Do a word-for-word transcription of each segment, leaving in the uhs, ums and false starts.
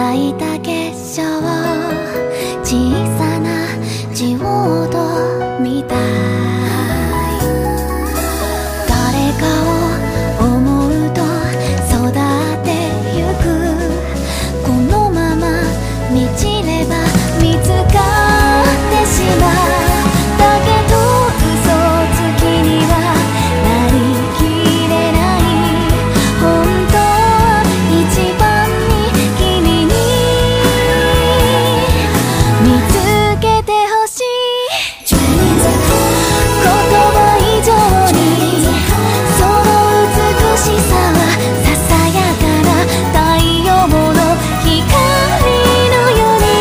いた結晶、小さなジオードみたい。誰かを思うと育ってゆく。このまま満ちれば見つかってしまう。だけど嘘つきにはなりきれない。本当一番に君に見つけてほしい。言葉以上にその美しさはささやかな太陽の光のように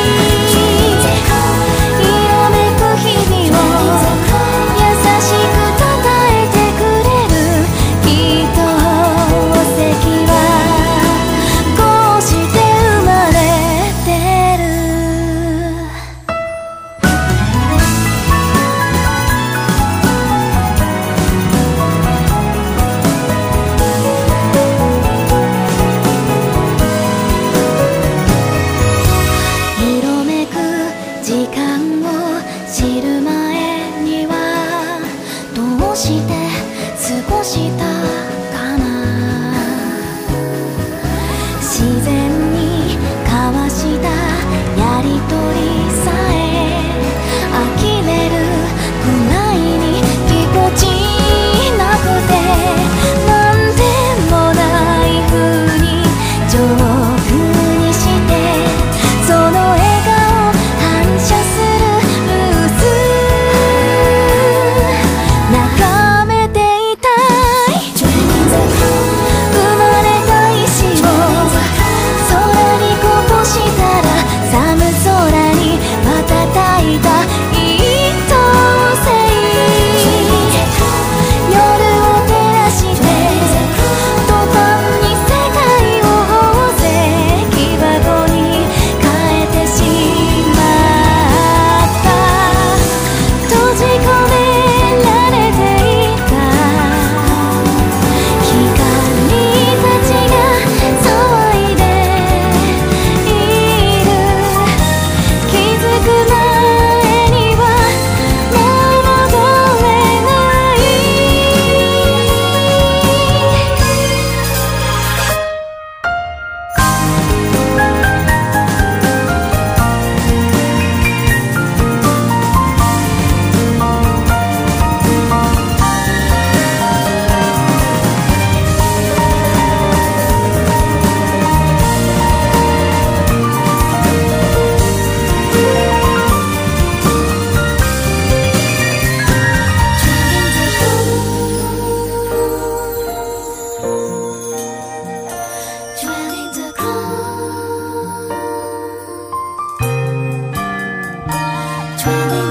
色めく日々を優しくたたえてくれる。きっと宝石はこうして生まれてる。色めく時間を知る前にはどうして過ごしたかな。自然に交わしたやりとりさえ呆れるくらいにぎこちなくて、なんでもない風にジョークにしてその笑顔反射するルース眺めていたい。生まれた石を空にこぼしたら寒空に瞬いた一等星。夜を照らして途端に世界を宝石箱に変えてしまった。閉じ込められていた光たちが騒いでいる。気づく前にはもう戻れない。Dwelling the calm, dwelling